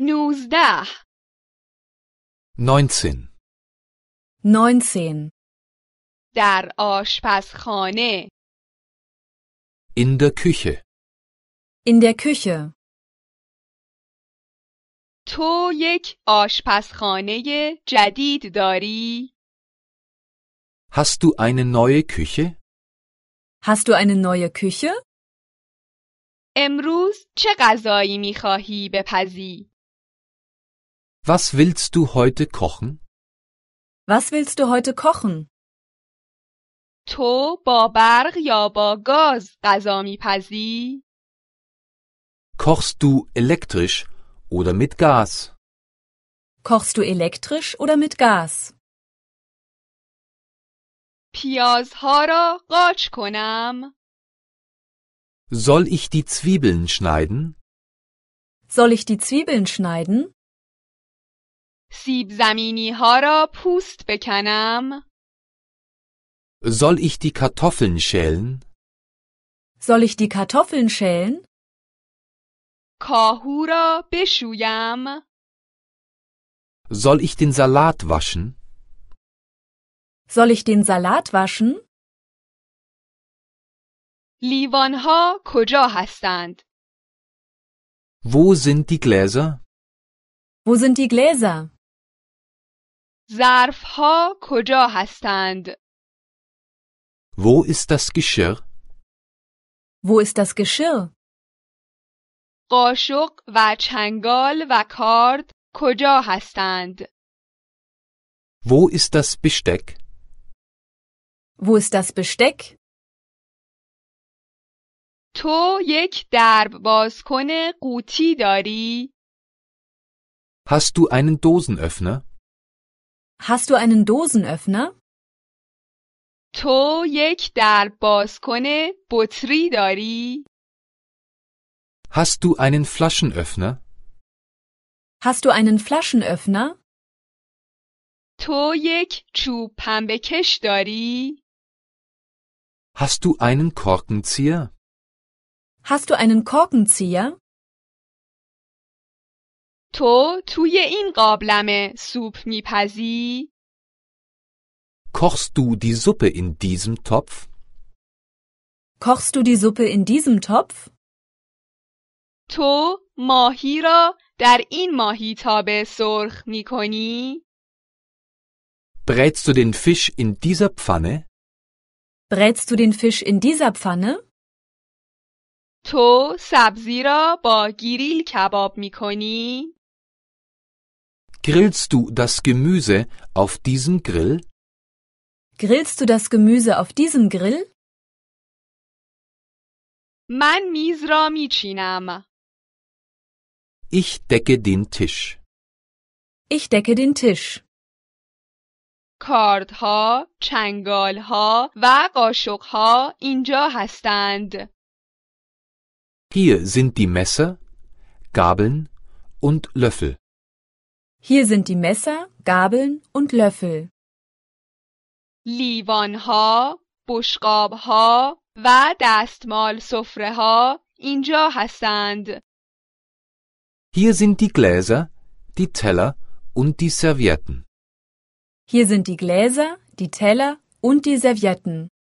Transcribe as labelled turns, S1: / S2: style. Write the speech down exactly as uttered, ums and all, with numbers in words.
S1: نوزده.
S2: neunzehn.
S3: neunzehn.
S1: در آشپزخانه.
S2: In der Küche.
S3: In der Küche.
S1: تو یک آشپزخانه جدید داری؟
S2: Hast du eine neue Küche?
S3: Hast du eine neue Küche?
S1: امروز چه غذایی می‌خواهی بپزی؟
S2: Was willst du heute kochen?
S3: Was willst du heute kochen?
S1: تو با برق یا با گاز غذا می‌پزی؟
S2: Kochst du elektrisch oder mit Gas?
S3: Kochst du elektrisch oder mit Gas?
S1: پیازها را قاچ کنم؟
S2: Soll ich die Zwiebeln schneiden?
S3: Soll ich die Zwiebeln schneiden?
S1: سیب زمینی‌ها را پوست بکنم؟
S2: Soll ich die Kartoffeln schälen?
S3: Soll ich die Kartoffeln schälen?
S1: کاهو را بشویم؟
S2: Soll ich den Salat waschen?
S3: Soll ich den Salat waschen?
S1: لیوان‌ها کجا هستند؟
S2: Wo sind die Gläser?
S3: Wo sind die Gläser?
S1: ظرف‌ها کجا هستند؟
S2: Wo ist das Geschirr?
S3: Wo ist das Geschirr?
S1: قاشق و چنگال و کارد کجا هستند؟
S2: Wo ist das Besteck?
S3: Wo ist das Besteck?
S1: تو یک درب بازکن قوطی داری؟
S2: Hast du einen Dosenöffner?
S3: Hast du einen Dosenöffner?
S1: تو یک درب بازکن بطری داری؟
S2: Hast du einen Flaschenöffner?
S3: Hast du einen Flaschenöffner?
S1: تو یک چوب پنبه‌کش داری؟
S2: Hast du einen Korkenzieher?
S3: Hast du einen Korkenzieher?
S1: تو توی این قابلمه سوپ میپزی؟
S2: Kochst du die Suppe in diesem Topf?
S3: Kochst du die Suppe in diesem Topf?
S1: تو ماهی را در این ماهیتابه سرخ میکنی؟
S2: Brätst du den Fisch in dieser Pfanne?
S3: Brätst du den Fisch in dieser Pfanne?
S1: تو سبزی را با گریل کباب میکنی؟
S2: Grillst du das Gemüse auf diesem Grill?
S3: Grillst du das Gemüse auf diesem Grill?
S1: من میز را میچینم.
S2: Ich decke den Tisch.
S3: Ich decke den Tisch.
S1: کاردها، چنگالها و قاشقها اینجا هستند.
S2: Hier sind die Messer, Gabeln und Löffel.
S3: Hier sind die Messer, Gabeln und Löffel.
S1: لیوانها، بشقابها و دستمال سفره‌ها اینجا هستند.
S2: Hier sind die Gläser, die Teller und die Servietten.
S3: Hier sind die Gläser, die Teller und die Servietten.